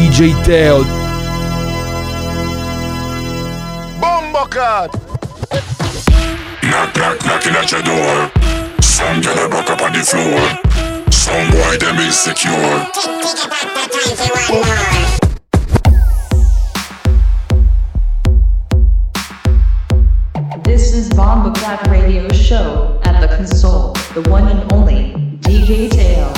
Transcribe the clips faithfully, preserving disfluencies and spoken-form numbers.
D J Teo. Bombocat. Knock, knock, knocking at your door. Some girl a buck up on the floor. Some boy them insecure. This is Bombocat Radio Show at the console, the one and only D J Teo.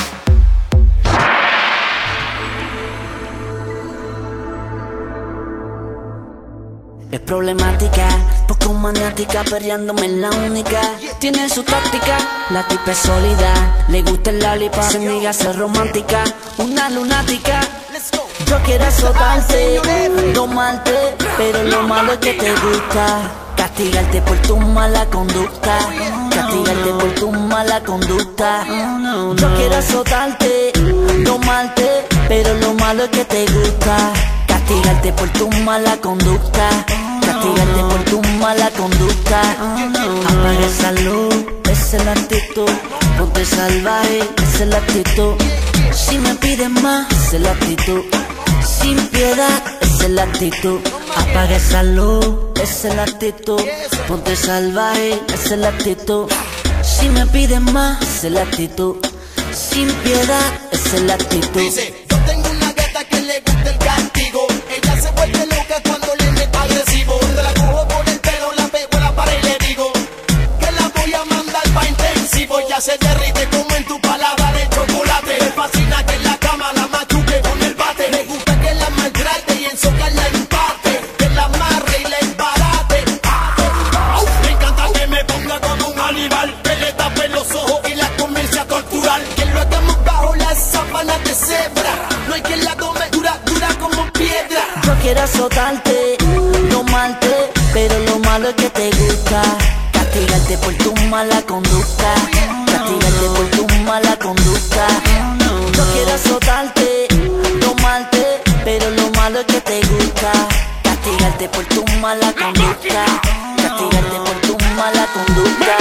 Es problemática, poco maniática, perreándome en la única. Tiene su táctica, la tipa es sólida. Le gusta el lollipop, se niega a ser romántica. Una lunática, yo quiero azotarte, domarte, pero lo malo es que te gusta. Castigarte por tu mala conducta, castigarte por tu mala conducta. Yo quiero azotarte, domarte, pero lo malo es que te gusta. Castigarte por tu mala conducta, castigarte por tu mala conducta. Apaga esa luz, esa es la actitud. Ponte salvaje, esa es la actitud. Si me piden más, esa es la actitud. Sin piedad, esa es la actitud. Apaga esa luz, esa es la actitud. Ponte salvaje, esa es la actitud. Si me piden más, esa es la actitud. Sin piedad, esa es la actitud. Dice, yo tengo una gata que le gusta el castigo. Ella se vuelve loca cuando le meto agresivo. Te la cojo por el pelo, la pego en la pared y le digo que la voy a mandar pa' intensivo. Ya se derrite como en tu palabra de chocolate. Me fascina que en la cama la machuque con el bate. Me gusta que la maltrate y en socar la empate. Que la amarre y la embarate. Me encanta que me ponga como un animal. Que le tape los ojos y la comience a torturar. Que lo hagamos bajo las sábanas de cebra. No hay quien la tome dura, dura como piedra. Yo quiero azotarte, domarte, pero lo malo es que te gusta. Castigarte por tu mala conducta, castigarte por tu mala conducta. Yo quiero azotarte, domarte, pero lo malo es que te gusta. Castigarte por tu mala conducta, castigarte por tu mala conducta.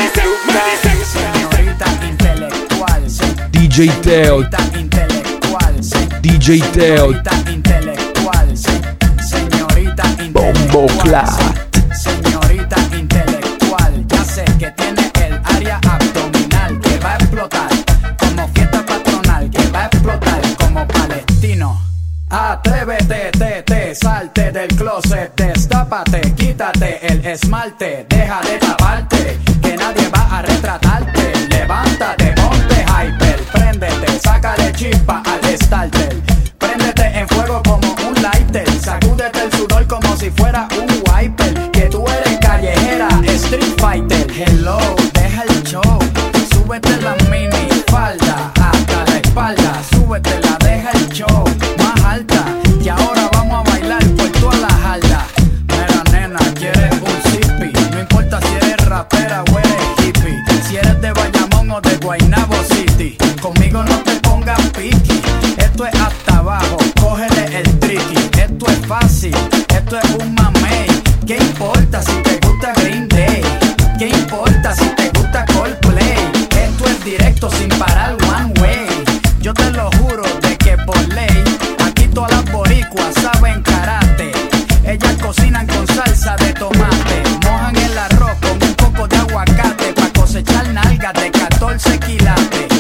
Señorita intelectual, D J Teo. señorita intelectual, D J Teo. señorita intelectual, señorita Bombo intelectual, Clat. señorita intelectual. Ya sé que tiene el área abdominal que va a explotar como fiesta patronal, que va a explotar como palestino. Atrévete, te, te, salte del closet, destápate, quítate el esmalte, deja de taparte, que nadie va a retratarte. Levántate, ponte hyper, préndete, sácale chispa al starter. Préndete en fuego como un lighter, sacúdete el sudor como si fuera un wiper. Que tú eres callejera, street fighter. Hello, deja el show, súbete la mini falda hasta la espalda, súbetela, deja el show más alta. Y ahora vamos a bailar por toda la jarda. Mira nena, quieres un zippy, no importa si eres rapera o eres hippie. Si eres de Bayamón o de Guaynabo City, conmigo no te pongas piqui. Esto es hasta abajo, cógele el tricky. Esto es fácil, esto es un mamey. ¿Qué importa si te gusta Green Day? ¿Qué importa si te gusta Coldplay? Esto es directo sin parar one way. Yo te lo juro de que por ley aquí todas las boricuas saben karate. Ellas cocinan con salsa de tomate, mojan el arroz con un poco de aguacate pa' cosechar nalgas de catorce quilates.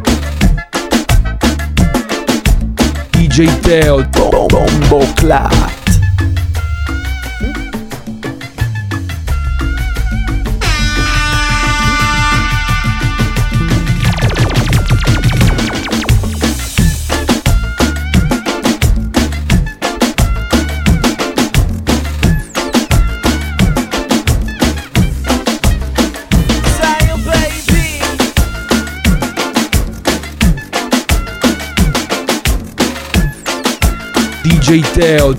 D J Teo. Bombo Clat. D J Teo.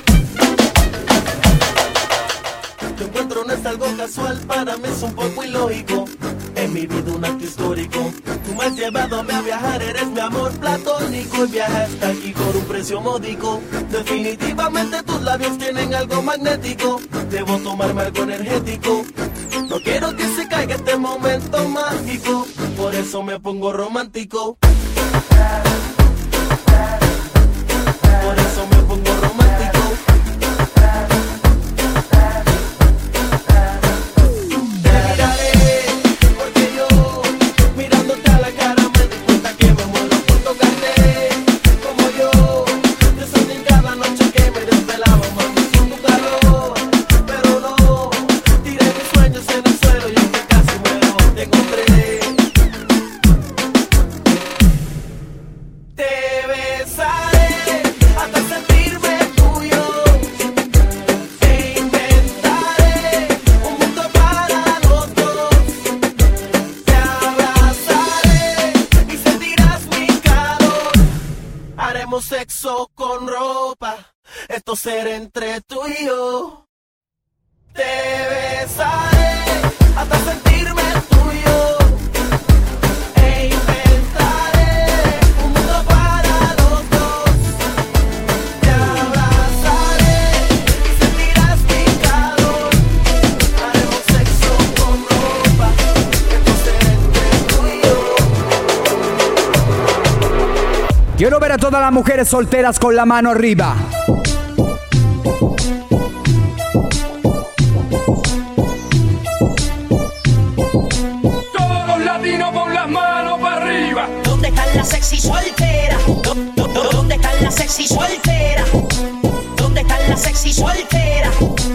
Tu encuentro no es algo casual, para mí es un poco ilógico. En mi vida un acto histórico. Tú me has llevado a viajar, eres mi amor platónico. Y viaje hasta aquí por un precio módico. Definitivamente tus labios tienen algo magnético. Debo tomarme algo energético. No quiero que se caiga este momento mágico. Por eso me pongo romántico. por eso me pongo romántico. Te miraré, porque yo, mirándote a la cara, me di cuenta que me muero por tocarte. Como yo, yo soñé cada noche que me desvelaba, mami, sin tu calor. Pero no, tiré mis sueños en el suelo y aunque casi muero, te encontré. Te besaré hasta sentirme tuyo. Te inventaré un mundo para los dos. Te abrazaré y sentirás mi calor. Haremos sexo con ropa, esto será entre tú y yo. Te besaré hasta sentirme tuyo. E inventaré un mundo para los dos. Te abrazaré y sentirás mi calor. Haremos sexo con ropa, esto será entre tú y yo. Quiero ver a todas las mujeres solteras con la mano arriba. Todos los latinos con las manos para arriba. ¿Dónde están las sexy solteras? ¿Dó- dó- dó- ¿Dónde están las sexy solteras? ¿Dónde están las sexy solteras?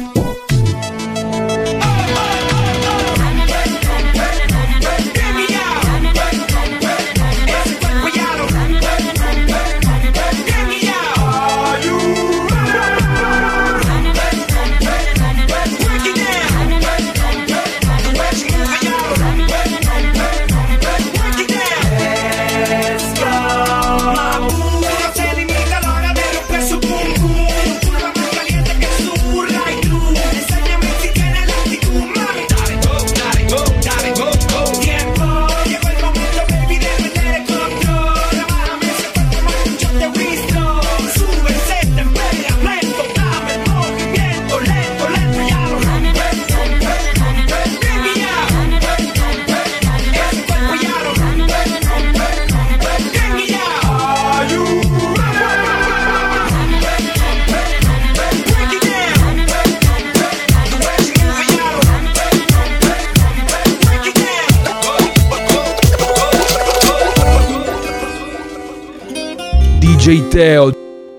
D J Teo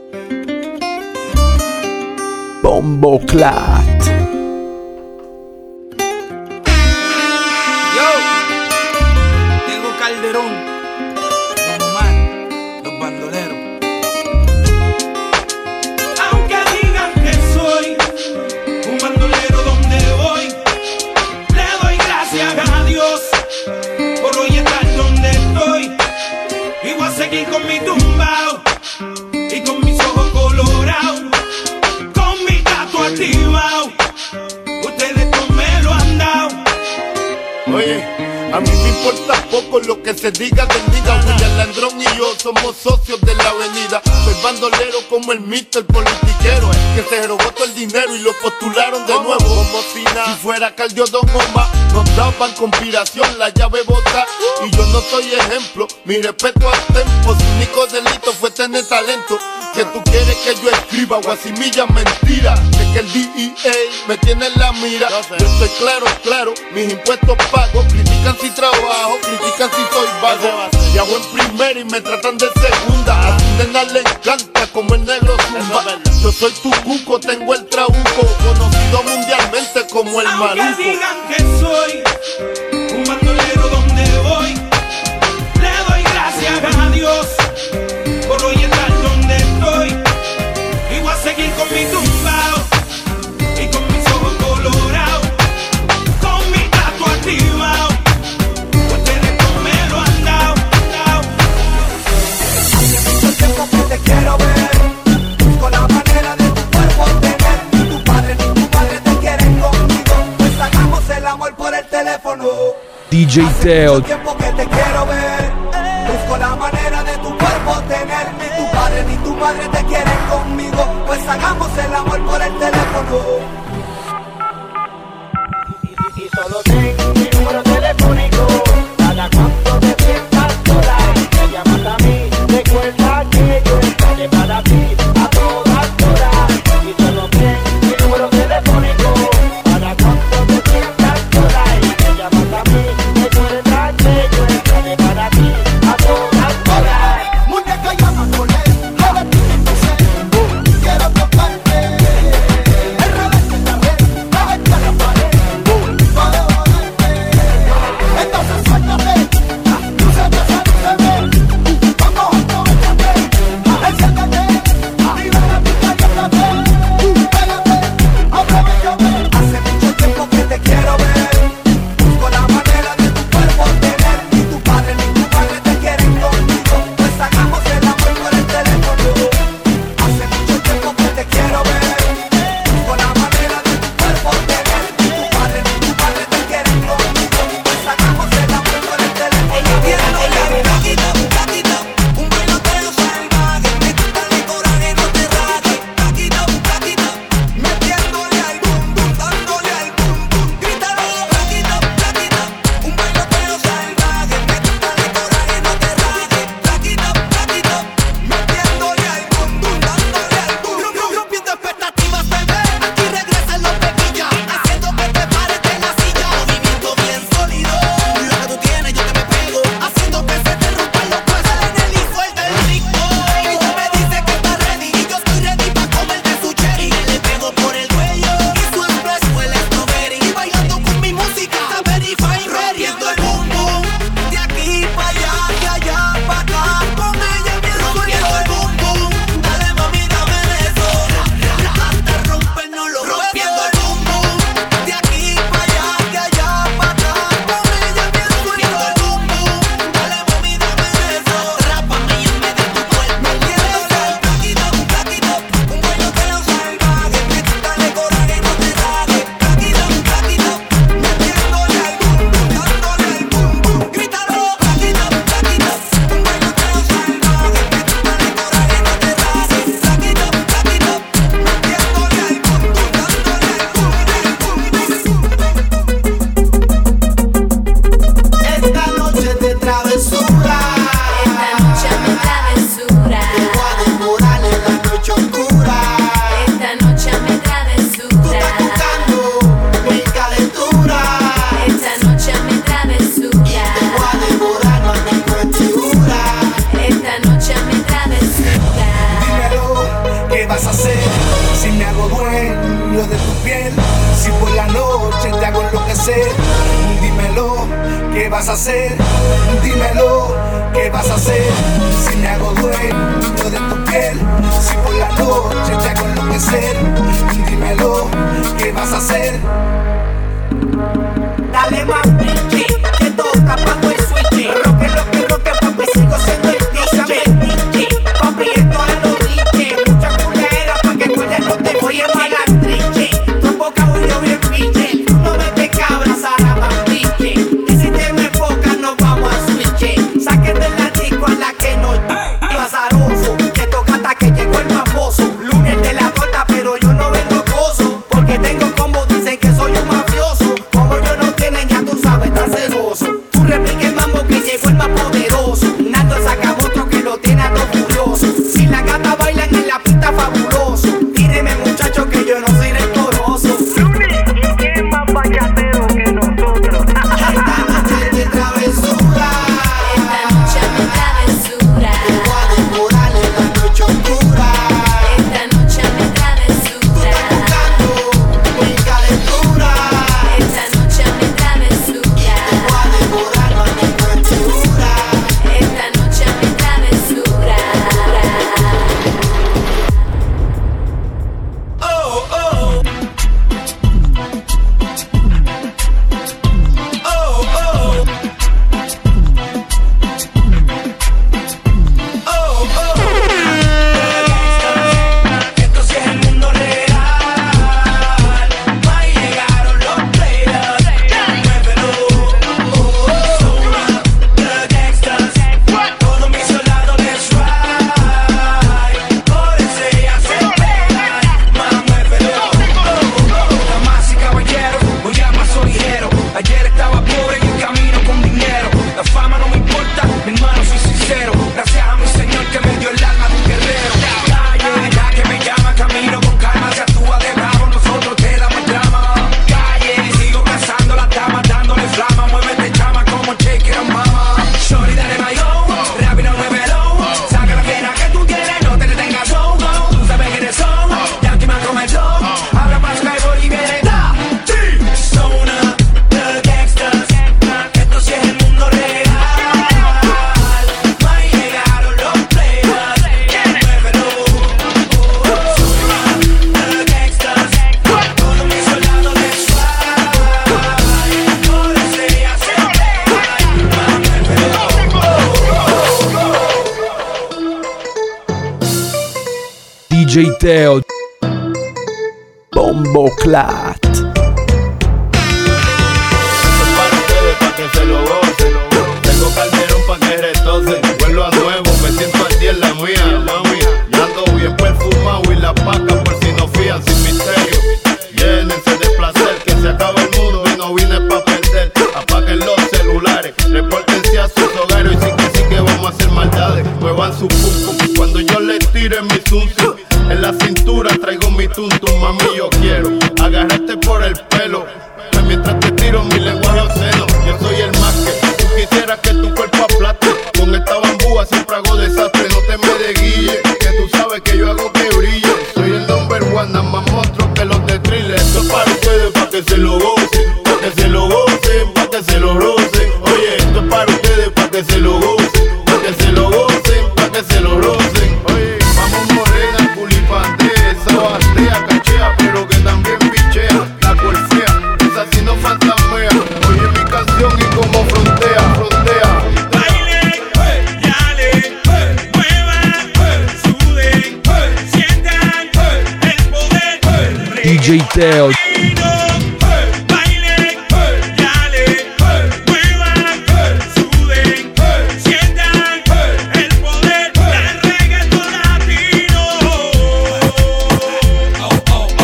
Bomboclat. Yo, tengo Calderón, Don Omar, los bandoleros. Aunque digan que soy un bandolero donde voy, le doy gracias a Dios por hoy estar donde estoy. Y voy a seguir con mi tumbao y con mis ojos colorados, con mi tatu activado. Ustedes no me lo han dado. Oye, a mí me importa poco lo que se diga del nigga. William Landrón y yo somos socios de la avenida. Soy bandolero como el mister politiquero, que se robó todo el dinero y lo postularon de nuevo. Como si nada, si fuera Cardio Don Omar, nos daban conspiración, la llave bota. Y yo no soy ejemplo, mi respeto al tempo. Su único delito fue tener talento. Que tú quieres que yo escriba guasimilla mentira. De que el D E A me tiene en la mira. Yo estoy claro, claro, mis impuestos pago. Critican si trabajo, critican si soy vago. Y hago en primera y me tratan de segunda. A tu nena le encanta como el negro zumba. Yo soy tu cuco, tengo el trabuco, conocido mundialmente como el maluco. Aunque digan que soy un bandolero donde voy, le doy gracias a Dios por hoy estar donde estoy. Y voy a seguir con mi tumbao y con mis ojos colorados, con mi tatu activado. Ustedes no me lo han dado, dado. Hace mucho tiempo que te quiero ver. Busco la manera de tu cuerpo tener. Ni tu padre ni tu madre te quieren conmigo. Pues hagamos el amor por el teléfono. D J Hace Teo mucho tiempo que te quiero ver. Busco la manera de tu cuerpo tener. Ni tu padre ni tu madre te quieren conmigo. Pues hagamos el amor por el teléfono. Y, y, y solo tengo mi número telefónico. Cada cuanto te sientas sola, me llamas a mí. Recuerda que yo estaré para ti. ¿qué vas a hacer? Dímelo, ¿qué vas a hacer? Si me hago dueño de tu piel, si por la noche te hago enloquecer, dímelo, ¿qué vas a hacer? Dale más pinche, que toca cuando el switch. Roque, roque, roque, papi, sigo siendo el D J. Papi, esto a los D J. Mucha culera pa' que tú no te voy a pagar triche. Tu boca huyó bien pinche. No me te cabras, ahora más pinche. Y si te me enfocas, nos vamos a switch. Sáquete la disco a la que no azaroso. Que toca hasta que llegó el famoso. Lunes de la torta, pero yo no vengo gozo. Porque tengo como dicen que soy un mafioso. Como yo no tienen, ya tú sabes, tan celoso. Tú replique el mambo que llegó el más poderoso. Nando saca otro que lo tiene a todo furioso. Si la gata bailan en la pista, fabuloso. Tíreme, muchacho, que yo no soy rencoroso. ¿Y quién más vallatero que nosotros? Esta noche de travesura. Esta noche de travesura. Te voy a devorar en la noche oscura. Esta noche de travesura. Tú estás buscando mi calentura. Esta noche de travesura. Te voy a devorar la temperatura. Esta noche de travesura. Oh, oh. Oh, oh. Oh, oh. Esto sí es el mundo real. Ahí llegaron los players. Muévelo. Oh, oh. The gangsters. Todos mis soldados les ride. Por eso ellas se pegan. Más muévelo. Damas y caballeros, hoy ya más soy ligero. Ayer estaba pobre y en camino con dinero. La fama no me importa, mi hermano, soy sincero. Gracias a mi Señor que me dio el alma de un guerrero. Calle, ya que me llama, camino con calma. Se actúa de bravo, nosotros te damos drama. Calle, sigo cazando las damas, dándole flama. Muévete, chama, como shake it, mama. Shorty, dale mayo, rápido, muévelo. Saca la fiera que tú tienes, no te detengas, go, go. Tú sabes quiénes son, Yankee man comenzó. Abra paso, y viene da, sí. Zona, the gangsters. Esto sí es el mundo real. Ahí llegaron los players. Muévelo. Zona, the gangsters. Todos mis soldados de swag. Por eso ellas se pegan. D J Teo. Bombo Clat. Para ustedes, pa' que se lo gocen. Tengo calderón pa' que retocen. Vuelvo a nuevo, me siento al día en la mía, mami. Y ando bien perfumado y la paca por si no fían sin misterio. Llénense de placer, que se acaba el mundo y no vine pa' perder. Apaguen los celulares, repórtense a sus hogares. Y sí que sí que vamos a hacer maldades. Muevan su pum pum cuando yo les tire mi zum zum. En la cintura traigo mi tuntum, mami, yo quiero agarrarte por el pelo, pues mientras te tiro mi lenguaje obsceno. Yo soy el más que tú quisieras que tu cuerpo aplaste. Con esta bambúa siempre hago desastre, no te me desguille, que tú sabes que yo hago que brille. Soy el number one, nada más monstruo que los de thriller. Esto es para ustedes, pa' que se lo gocen, pa' que se lo gocen, pa' que se lo rocen. Oye, esto es para ustedes, pa' que se lo gocen, pa' que se lo gocen, pa' que se lo rocen. Oye, vamos morena, culipante, esa bastea, cachea, pero que también pichea. La corfea, esa sí no fantasmea. Oye mi canción y como frontea, frontea. Bailen, yalen, muevan, suden, sientan el poder. D J Teo. Bailen, yalen, muevan, suden, sientan el poder del reggaetón latino. Oh, oh, oh.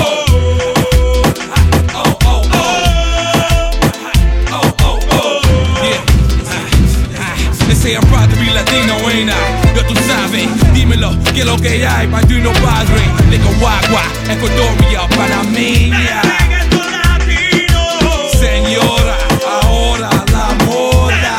Oh, oh, oh. Oh, oh, oh. Yeah. They say I'm proud to be Latino, ain't I? Yo, tú sabes, dímelo, que lo que hay, Padrino Padre, Nicaragua, Ecuadoria, Panameña. Señora, ahora la moda.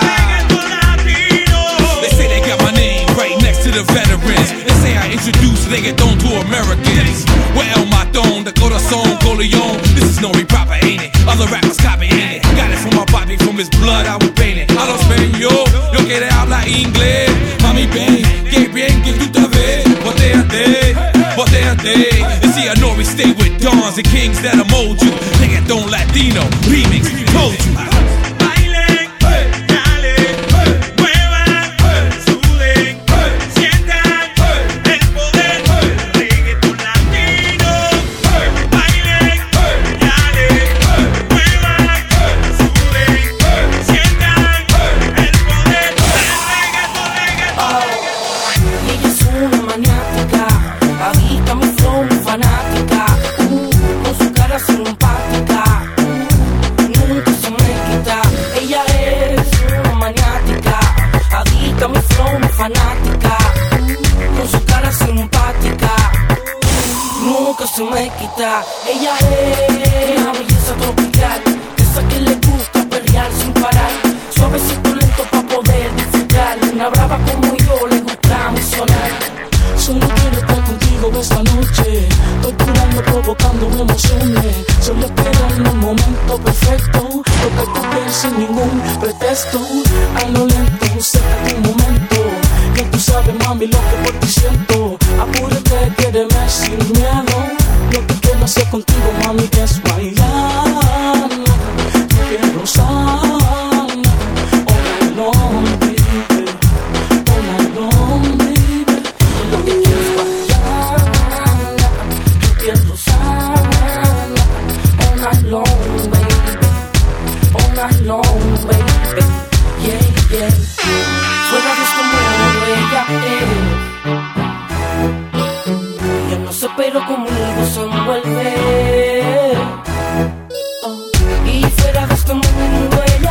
They say they got my name right next to the veterans. They say I introduce reggaeton to Americans. Well, El Matón, the corazón, Coleon. This is no rap, ain't it? Other rappers copying it. Got it from my body, from From his blood I was painted. A los español, yo quiere hablar inglés. Mami, ven, que bien que tú te ves. Botéate, botéate. And see, I know we stay with dons and kings that'll mold you. Reggaeton Latino, remix, told you. Ella es una belleza tropical, esa que le gusta perrear sin parar, suavecito lento pa' poder disfrutar. Una brava como yo le gusta sonar. Solo quiero estar contigo esta noche, torturando, provocando emociones. Solo esperando un momento perfecto, tocar tu piel sin ningún pretexto. A lo lento, cerca de un momento, que tú sabes mami lo que por ti siento. Apúrate, quédeme sin miedo. Lo que quiero hacer contigo, mami, es bailar. Quiero gozar. All night long, baby. All night long, baby. Lo que quiero es bailar. Quiero gozar. All night long, baby. All night long, baby. Yeah, yeah. Fuera de este mundo ella es. Ella no se pero conmigo se envuelve. Oh. Y fuera de este mundo ella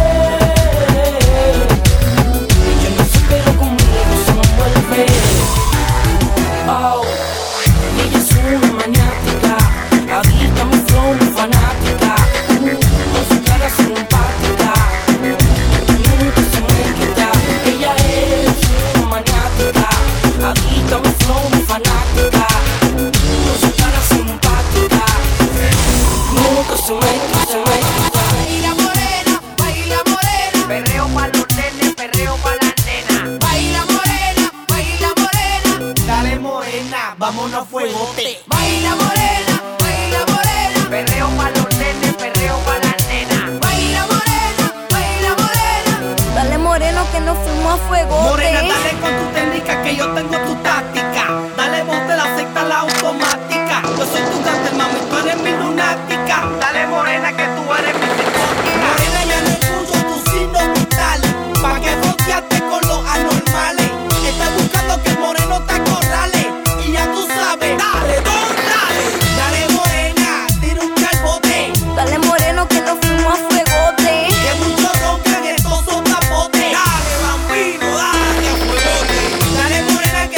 es. Ella no se pero conmigo se envuelve. Oh. Y ella es una maniática, adicta a mi flow, mi fanática. Con su cara simpática, nunca se me quita. Ella es una maniática, adicta a mi flow, mi fanática. Con su cara simpática, nunca se me quita, se me quita. Baila morena, baila morena, perreo pa' los nenes, perreo pa' las nenas. Baila morena, baila morena, Dale morena, vámonos a fuegote. baila morena, baila morena, perreo pa' los nenes, perreo pa' las nenas. Baila morena, baila morena. Dale moreno que nos fuimos a fuego. Morena, dale con tu técnica que yo tengo tu táctica. Dale bote, la secta, la automática. Yo soy tu gante, mami, tú eres mi lunática. Dale morena que tú eres mi psicótica. Morena, ya no escucho tu signo vital. Pa' que fronteaste con los anormales. Estás buscando que el moreno te acorrale. Y ya tú sabes, dale, don, dale. Dale morena, tira un calbote. Dale moreno que nos fuimos a fuegote. Que muchos roncan estos son tapotes. Dale bambino, dale a fuegote. Dale morena que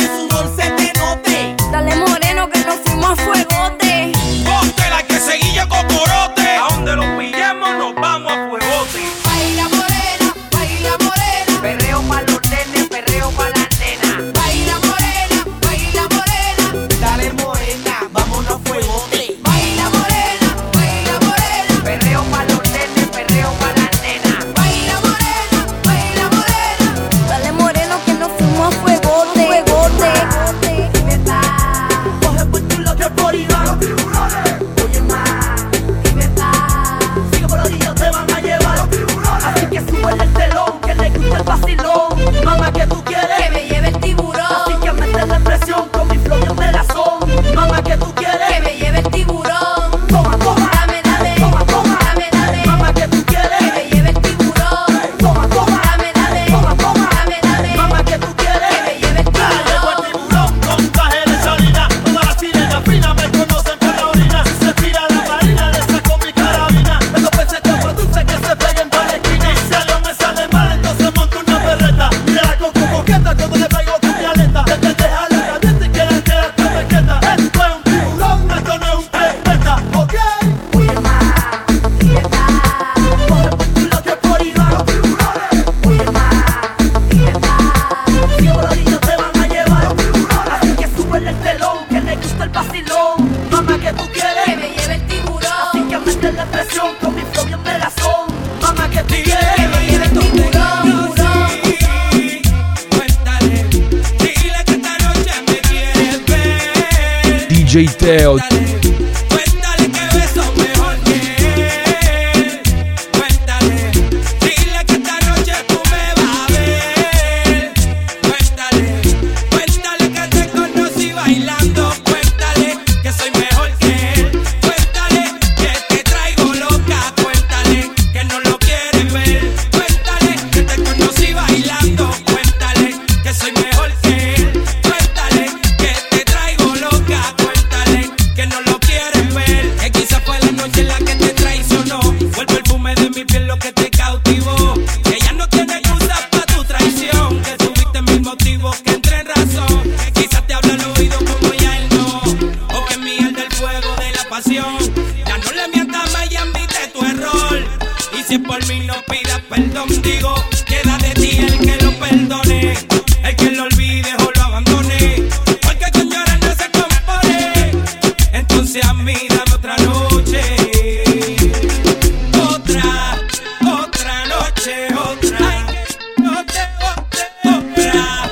que me tiene torturado. Cuéntale, dile que esta noche me quieres ver. D J Teo. Cuéntale que beso mejor que él. Cuéntale, dile que esta noche tú me vas a ver. Cuéntale, cuéntale que te conocí bailando. Cuéntale que soy mejor que él. Cuéntale que te traigo loca. Cuéntale que no lo quieres ver. Cuéntale que te conocí bailando. Cuéntale que soy mejor que él. Cuéntale que te traigo loca. Cuéntale que no lo quieres ver. Que quizá fue la noche en la que te traicionó. Fue el perfume de mi piel lo que te cautivó. Que ya no tiene excusas para tu traición. Que tuviste mil motivos que entre en razón. Quizás te habla al oído como ya él no. O que mierda el fuego de la pasión. Ya no le mientas más y admite tu error. Y si es por mí no pidas perdón. Digo, queda de ti el que lo perdone. El que lo olvide o lo abandone. Porque con llorar no se compone. Entonces a mí dame otra noche. Otra, otra noche, otra. Otra, otra,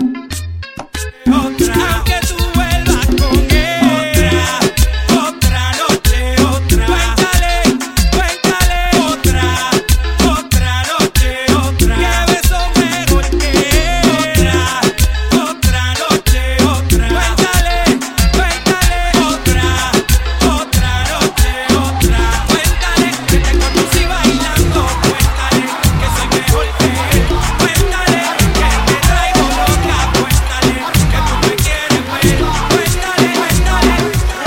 otra. Aunque tú vuelvas con él. Otra, otra noche, otra. Cuéntale, cuéntale. Otra, otra noche, otra. Que beso mejor que él. Otra, otra noche, otra. Cuéntale, cuéntale. Otra, otra noche, otra. Cuéntale que te conocí bailando. Cuéntale que soy mejor que él. Cuéntale que te traigo loca. Cuéntale que tú me quieres ver. Cuéntale, cuéntale.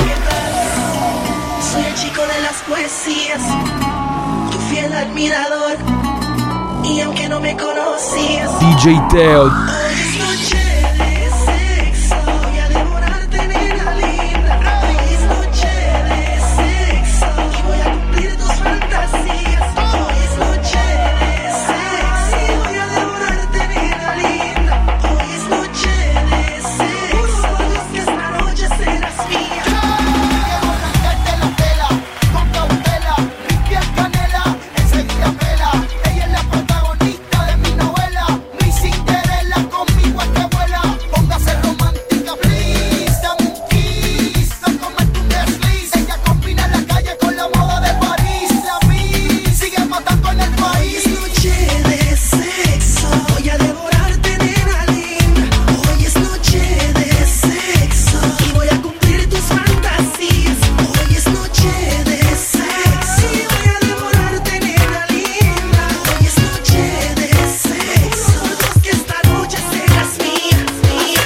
Soy el chico de las poesías, tu fiel admirador. Y aunque no me conocías, D J Teo. hoy es noche de sexo. Voy a devorarte, nena linda. Hoy es noche de sexo y voy a cumplir tus fantasías. Hoy es noche de sexo y voy a devorarte, nena linda. Hoy es noche de sexo, que esta noche serás mía. Quiero arrancarte la tela, con cautela, limpiar canela, enseguida pela. Ella es la protagonista de mi novela, mi Cinderella, conmigo es que vuela. Póngase romántica, please, dame un kiss, no comete un desliz. Ella combina la calle con la moda de París. A mí sigue matando en el país. Hoy es noche de sexo, voy a devorarte, nena linda. Hoy es noche de sexo y voy a cumplir tus fantasías. Hoy es noche de sexo y voy a devorarte, nena linda. Hoy es noche de sexo, que esta noche serás mía, mía.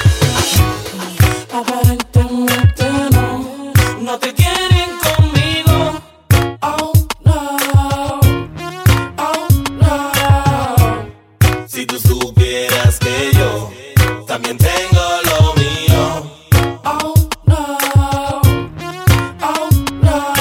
Aparentemente no, no te quieren conmigo. Oh no, oh no. Si tú supieras que yo también tengo lo mío. Oh no, oh no.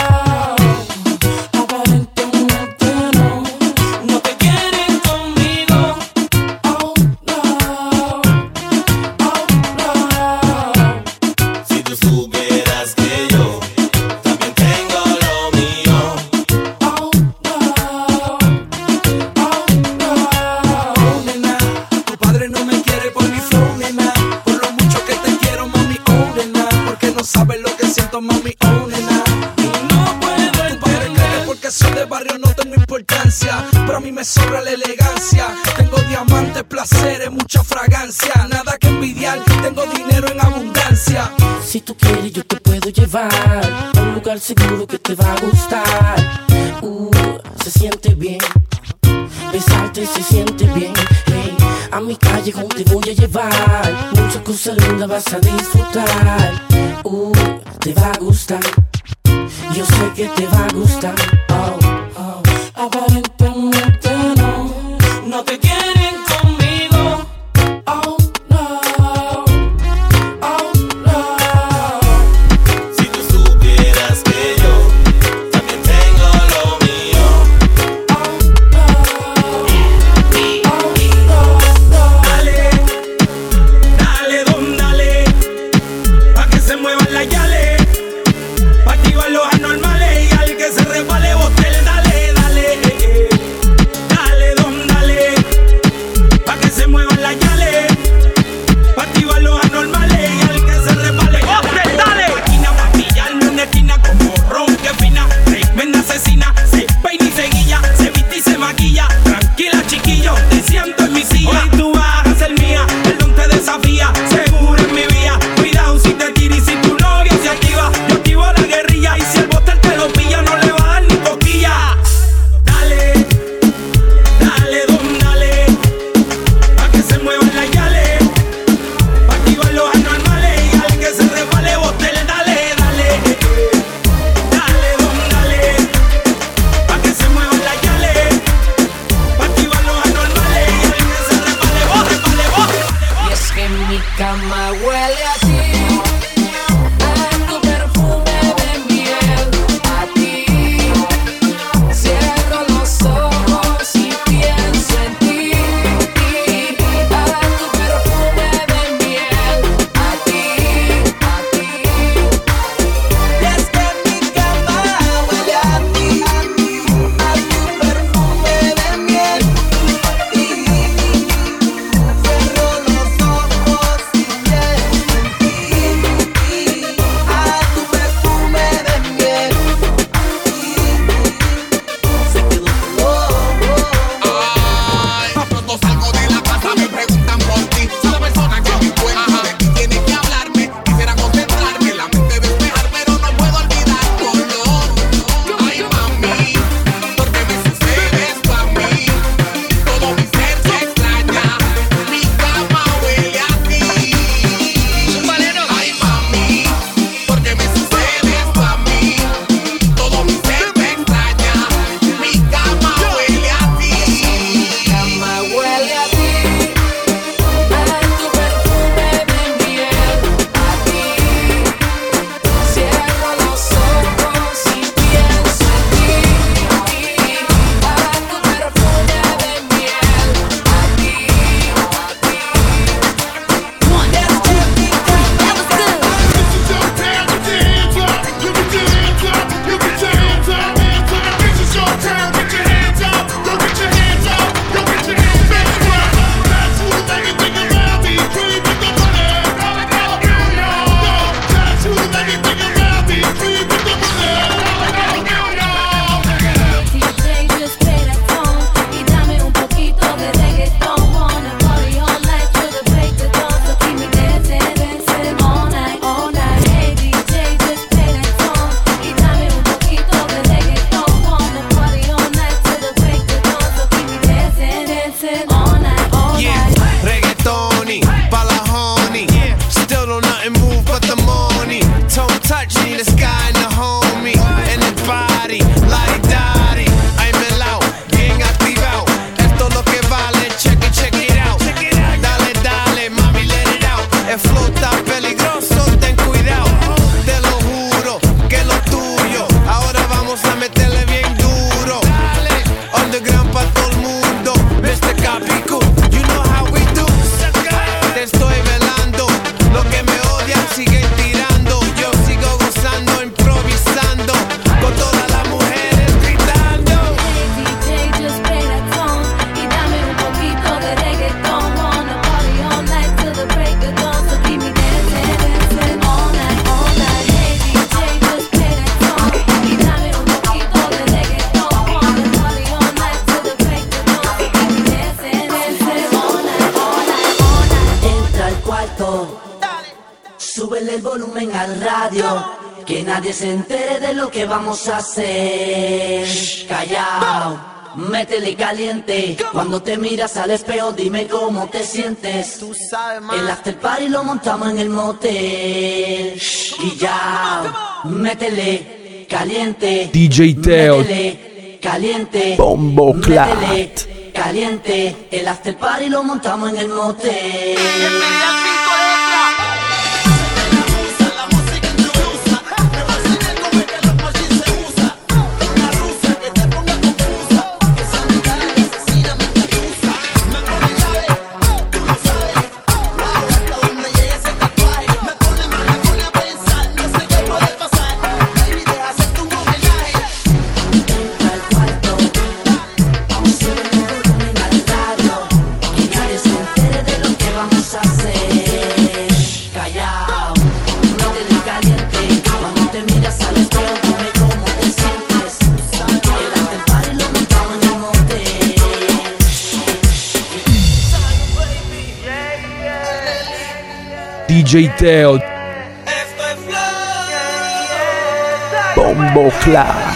Aparentemente no, no te quieren conmigo. Oh no, oh no. Si tú supieras que yo también tengo lo mío. Oh no, oh no. Nena, tu padre no me quiere por mi flow, nena. Por lo mucho que te quiero, mami, oh, nena. Porque no sabes lo que siento, mami, oh, nena. Y no puedo entender porque soy de barrio, no tengo importancia. Pero a mí me sobra la elegancia. Tengo diamantes, placeres, mucha fragancia. Nada que envidiar, tengo dinero en abundancia. Si tú quieres yo te puedo llevar a un lugar seguro que te va a gustar. Uh, se siente bien, besarte se siente bien. Hey, a mi callejón te voy a llevar. Muchas cosas lindas vas a disfrutar. Uh, te va a gustar. Yo sé que te va a gustar. Oh, oh. Aparentemente no, no te quieren conmigo. Oh no, oh no. Si tú supieras que yo también tengo lo mío. Dale, dale, don, dale, pa' que se muevan las yales, pa' activar los anormales y al que se resbale bote el dale. La pico, you know how we do. Te estoy velando, los que me odian siguen tirando. Yo sigo gozando, improvisando, con todas las mujeres gritando. D J, just play that song y dame un poquito de reggaeton. Wanna party all night till the break of dawn, so keep me dancing, dancing all night, all night. Hey D J, just play that song y dame un poquito de reggaeton. Wanna party all night till the break of dawn, so keep me dancing, dancing all night, all night, all night. Entra al cuarto, súbele el volumen al radio, que nadie se entere de lo que vamos a hacer. Callao, métele caliente. Cuando te miras al espejo, dime cómo te sientes. El after party lo montamos en el motel. Y ya, métele caliente. D J Teo. Métele caliente. Bombo Clat. Métele caliente. El after party lo montamos en el motel. D J Teo. Bombo Clat.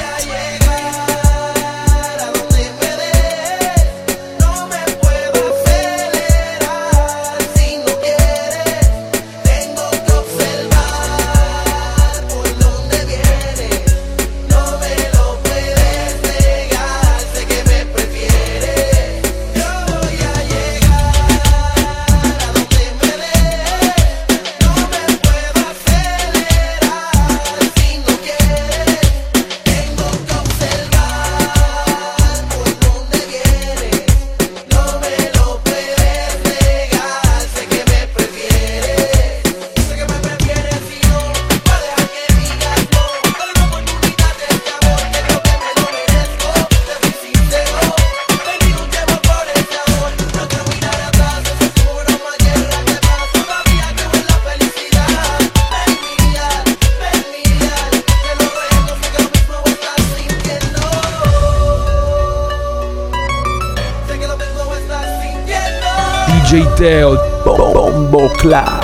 D J Teo. Bombo Clat.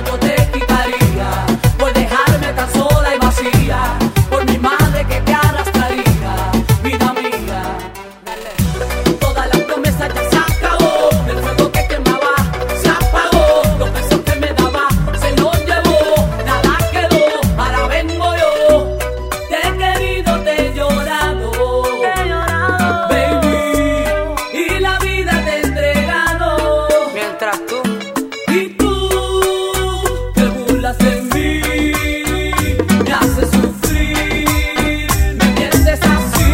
yo te quitaría por dejarme tan sola y vacía, por mi madre que te arrastraría, vida mía. Toda la promesa ya se acabó, el fuego que quemaba se apagó, los besos que me daba se los llevó, nada quedó, ahora vengo yo. Te he querido, te he llorado, baby, y la vida te he entregado. Mientras tú y tú te burlas de mí, me haces sufrir, me mientes así.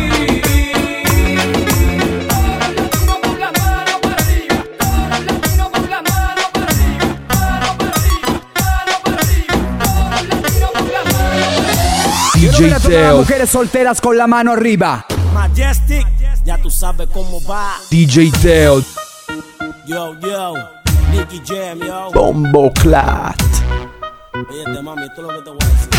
Quiero ver a todas las D J Teo, mujeres solteras con la mano arriba. Majestic, ya tú sabes cómo va. D J Teo, Yo, yo, Nicky Jam, yo. Bombo Clat. Oye, mami, esto es lo que te voy a decir.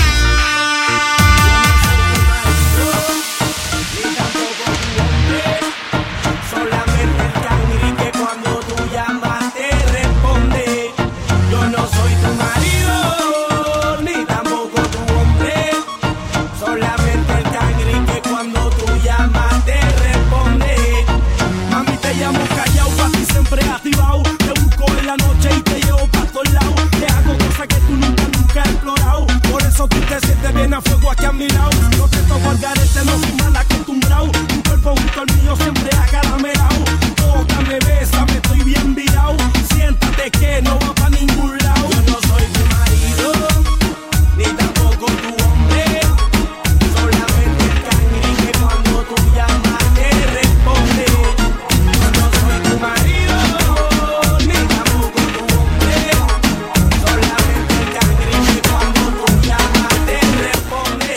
Solamente el cangri que cuando tú llamas te responde. Yo no soy tu marido, ni tampoco tu hombre. Solamente el cangri que cuando tú llamas te responde. Mami, te llamo callao, pa' ti siempre activado. Te busco en la noche y te llevo pa' todos lados. Te hago cosas que tú nunca, nunca has explorado. Por eso tú te sientes bien a fuego aquí a mi lado. No te toco al garete, no soy mal acostumbrado. Tu cuerpo junto al mío siempre acaramelado. Tócame, bésame, estoy bien virado. Siéntate que no va pa' ningún lado. Yo no soy tu marido, ni tampoco tu hombre. Solamente el cangri que cuando tú llamas te responde. Yo no soy tu marido, ni tampoco tu hombre. Solamente el cangri que cuando tú llamas te responde.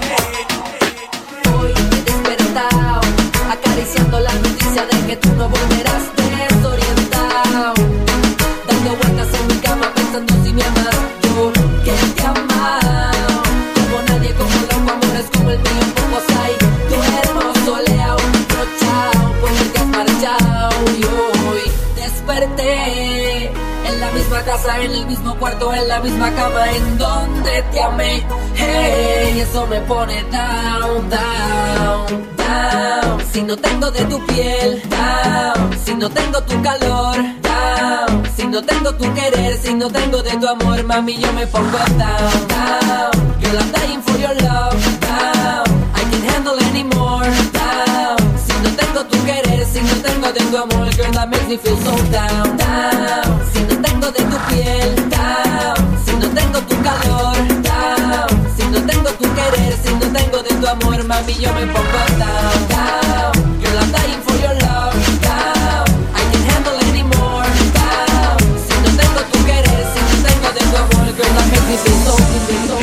Hoy he despertado, acariciando la noticia de que tú no volverás desorientado, dando vueltas en mi cama pensando si me amas, yo que te he amado, como nadie, como loco, amores como el mío, pocos hay, duermo soleado, rochao, porque te has marchado y hoy desperté en la misma casa, en el mismo cuarto, en la misma cama en donde te amé. Hey, eso me pone down, down, down. Si no tengo de tu piel, down. Si no tengo tu calor, down. Si no tengo tu querer, si no tengo de tu amor, mami, yo me pongo down, down. Girl, I'm dying for your love, down. I can't handle anymore, down. Si no tengo tu querer, si no tengo de tu amor, girl, that makes me feel so down, down. Si no tengo de tu piel, down. Si no tengo tu calor, down. Si no tengo tu querer, si no tengo de tu amor, mami, yo me pongo down, down. Girl, I'm dying for your love, down. I can't handle anymore, down. Si no tengo tu querer, si no tengo de tu amor, girl, that makes me feel so, feel so.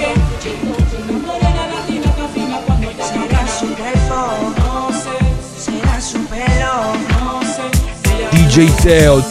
Será su cuerpo, no sé, será su pelo, no sé. D J Teo,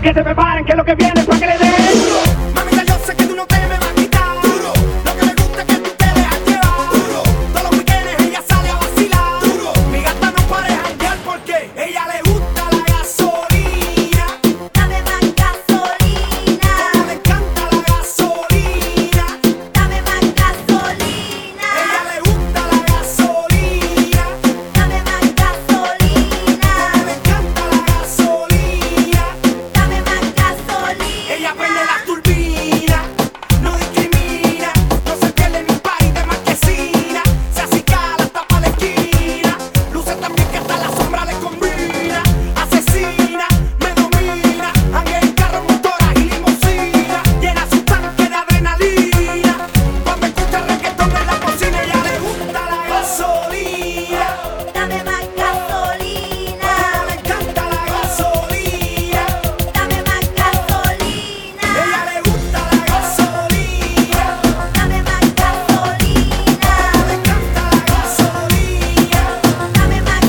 Que se preparen, que lo que viene es pa' que le den. Mamita, yo sé que tú no te me vas a quitar. Lo que me gusta es que tú te dejas llevar. Todos los weekends ella sale a vacilar. Mi gata no para de janguear porque ella le gusta la gasolina. Dame más gasolina. Como le encanta la gasolina. Dame más gasolina. Ella le gusta la gasolina. Dame más gasolina. Como le encanta la gasolina. Dame más gasolina. Ella prende la turbina, no discrimina, no se pierde ni un país de marquesina. Se acicala hasta pa' la esquina, luce también que hasta la sombra le combina. Asesina, me domina, anda en carro, motora y limusina. Llena su tanque de adrenalina, cuando escucha reggaetón en la cocina. Ella le gusta la gasolina. Dame más gasolina. Como le encanta la gasolina. Dame más gasolina. Ella le gusta la gasolina. Dame más gasolina. Le encanta la gasolina. Dame más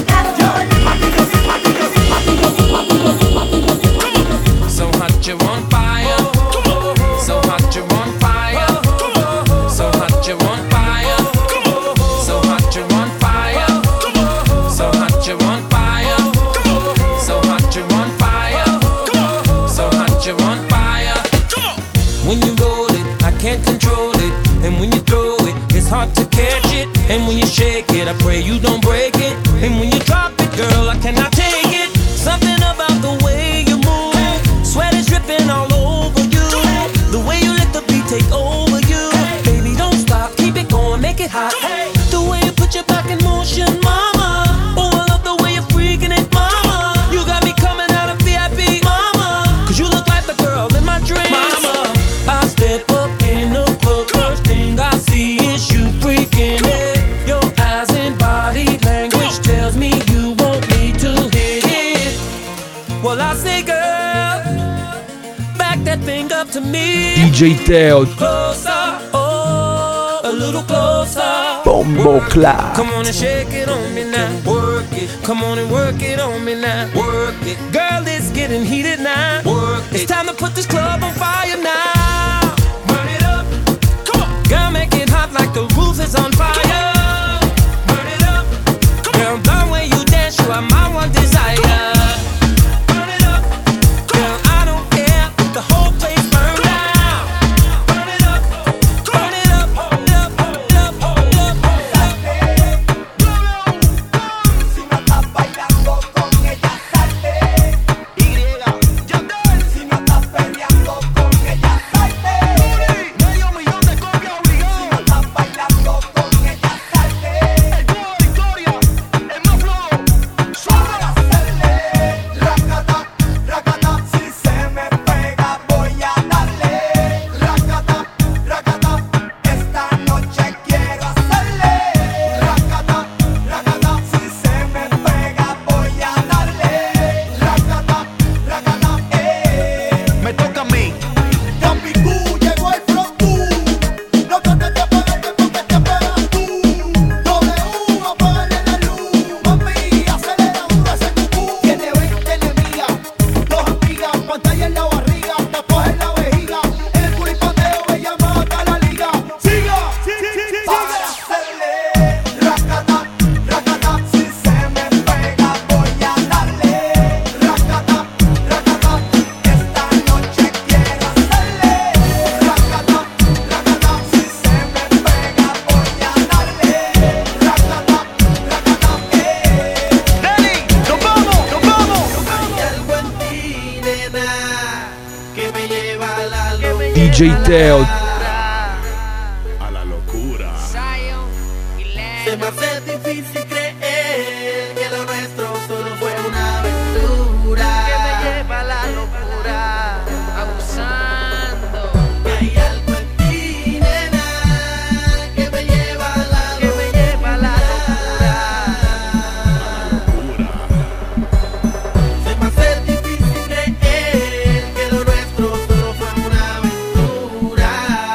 gasolina. So hot you're on fire. So hot you're on fire. So hot you're on fire. So hot you're on fire. So hot you're on fire. So hot you're on fire. So hot you're on fire. When you roll it, I can't control it. And when you throw it, it's hard to catch it. And when you shake it, I pray you don't break it. And when you drop it, girl, I cannot take it. Something about the way you move, sweat is dripping all over you. The way you let the beat take over you. Baby, don't stop, keep it going, make it hot. The way you put your back in motion, mama. Oh, I love the way you're freaking it, mama. You got me coming out of V I P, mama. Cause you look like the girl in my dreams, mama. I step up in the club, first thing I see is you freaking it. Your eyes and body language tells me you want me to hit it. Well, I say, girl, back that thing up to me. D J Teo, Closer, oh, a little closer. Bombo Clat. Come on and shake it on me now. Work it. Come on and work it on me now. Work it. Girl, it's getting heated now. Work it. It's time to put this club on fire now. Burn it up. Come on. Girl, make it hot like the roof is on fire. Burn it up. Girl, the way you dance, you are my one desire. Burn it up. Girl, I don't care if the whole place burn down. Burn it up. Burn it up. Hold up. Hold up. Hold up. Hold up. Si no estás bailando con ella, salte. Y, si no estás peleando con ella, salte. Medio millón de copias obligadas. Si no estás bailando con ella, salte. El dúo de Victoria, el más flojo. Suave a hacerle. Racata, racata, si se me pega voy a darle. Racata, racata, esta noche quiero hacerle. Racata, racata, si se me pega voy a darle. Racata, racata, eh. Me toca a mí. Capicú, llegó el frontú. No trates de apagarte porque te apagas tú. W, apágale la luz. Mami, acelera duro ese cucú. Tiene veinte enemigas, dos amigas, pantalla en la barriga, tatuaje en la vejiga. En el culipateo me llama hasta la liga. Siga, para hacerle. Racata, racata, si se me pega voy a darle. Racata, racata, esta noche quiero hacerle. Racata, racata, si se me pega voy a darle. Racata, racata, eh. Nelly, nos vamos, nos vamos. Hay algo en ti, nena, que me lleva a la locura. D J Teo, A la locura. Se me hace difícil creer que lo nuestro solo fue una aventura. Que me lleva a la locura, abusando. Hay algo en ti, nena, que me lleva a la locura. Que me lleva a la locura. Se me hace difícil creer que lo nuestro solo fue una aventura.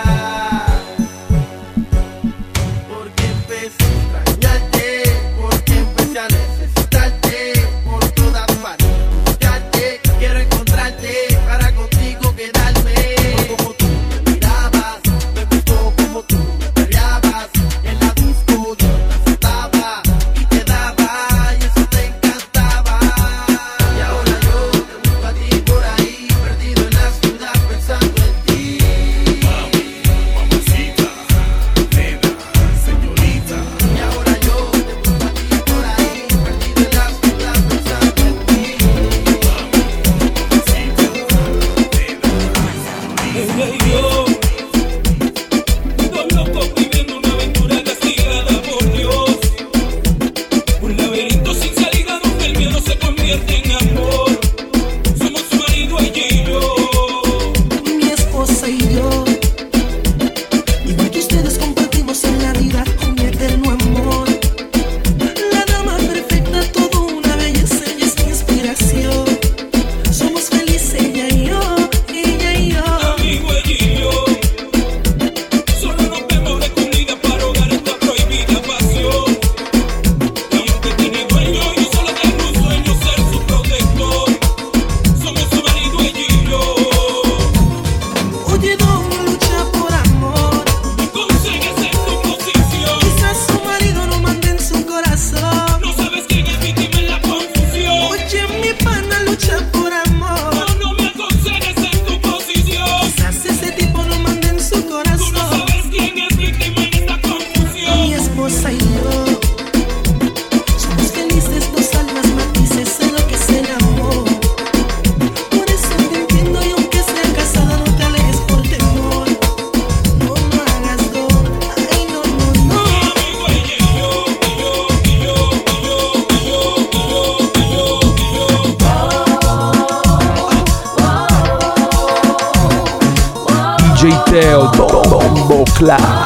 Teo Bombo Clat.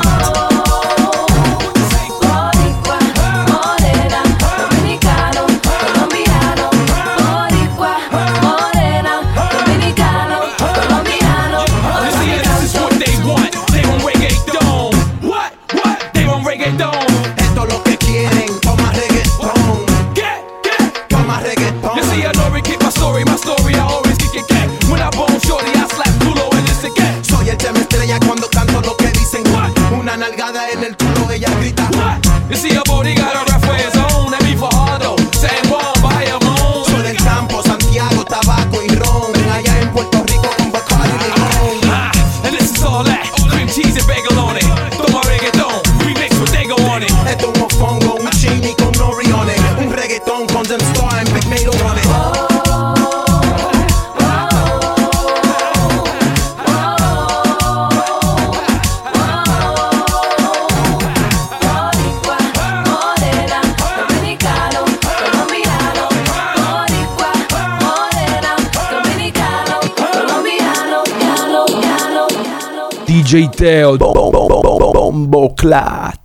D J Teo Bombo Clat.